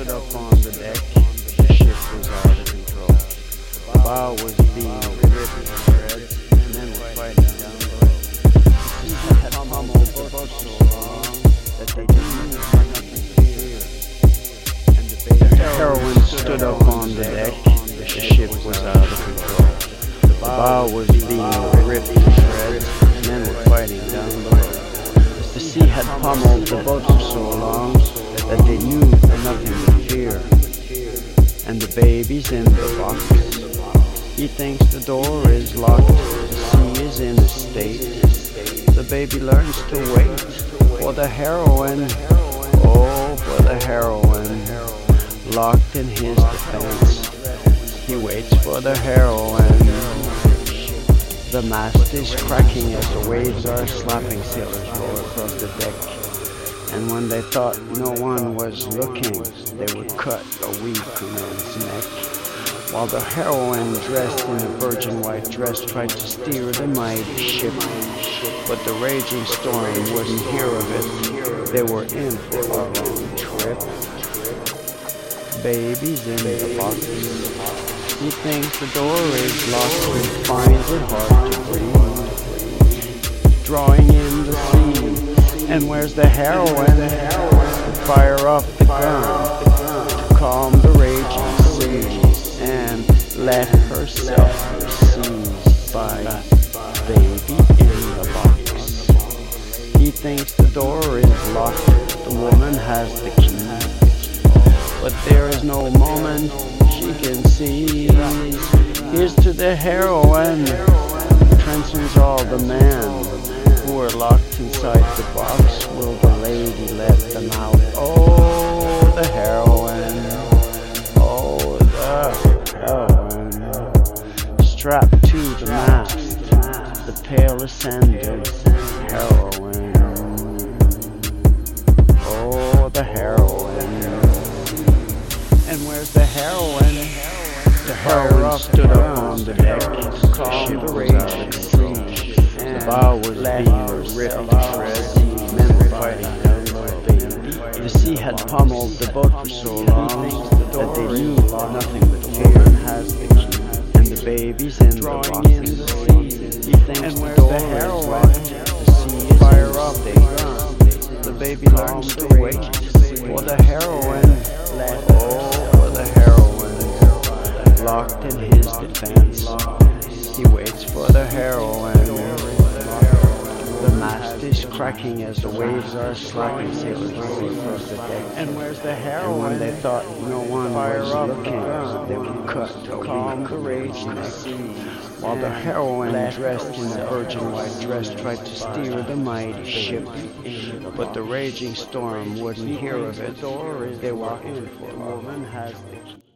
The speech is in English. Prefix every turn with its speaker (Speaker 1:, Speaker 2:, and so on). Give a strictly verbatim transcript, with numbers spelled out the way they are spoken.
Speaker 1: stood up on the deck. The ship was out of control. The bow was being ripped to shreds, and men were fighting down below. The sea had pummeled the boat so long that they didn't have nothing to fear. And the baby heroine stood up on the deck. The ship was out of control. The bow was being ripped to shreds, and men were fighting down below. The sea had pummeled the boat for so long that they knew nothing but fear. And the baby's in the box. He thinks the door is locked. The sea is in a state. The baby learns to wait for the heroine. Oh, for the heroine. Locked in his defense. He waits for the heroine. The mast is cracking as the waves are slapping. Sailors roll across the deck. And when they thought no one was looking, they would cut a weak man's neck. While the heroine, dressed in a virgin white dress, tried to steer the mighty ship. But the raging storm wouldn't hear of it. They were in for a long trip. Baby's in the box. He thinks the door is locked and finds it hard to breathe. Drawing in the sea. And where's the heroine? To fire off the gun, to calm the raging seas, and let herself be seized by baby in the box. He thinks the door is locked, the woman has the key, but there is no moment she can seize. Here's to the heroine, transcends all the men who are locked inside the box. Will the lady let them out? Oh, the heroine. Oh, the heroine. Strapped to the mast, the pale ascendant heroine. Oh, the heroine. And where's the heroine? The heroine stood up on the deck, calm the raging sea. The bow was being ripped to shreds, men were fighting down below. The sea had pummeled the boat for so long that they knew nothing but fear. Has the key, and the baby's in the box. He thinks the door is locked. The sea is fire off the gun. The baby learns to wait for the heroine. Oh, for the heroine, locked in his defense. He waits for the heroine. The mast is cracking as the waves are slapping. Sailors roll across the deck. And where's the heroine? And when they thought no one was looking, they would cut to calm the raging sea. While the heroine, dressed in a virgin white dress, tried to steer the mighty ship. But the raging storm wouldn't hear of it. They were in for a woman has the key.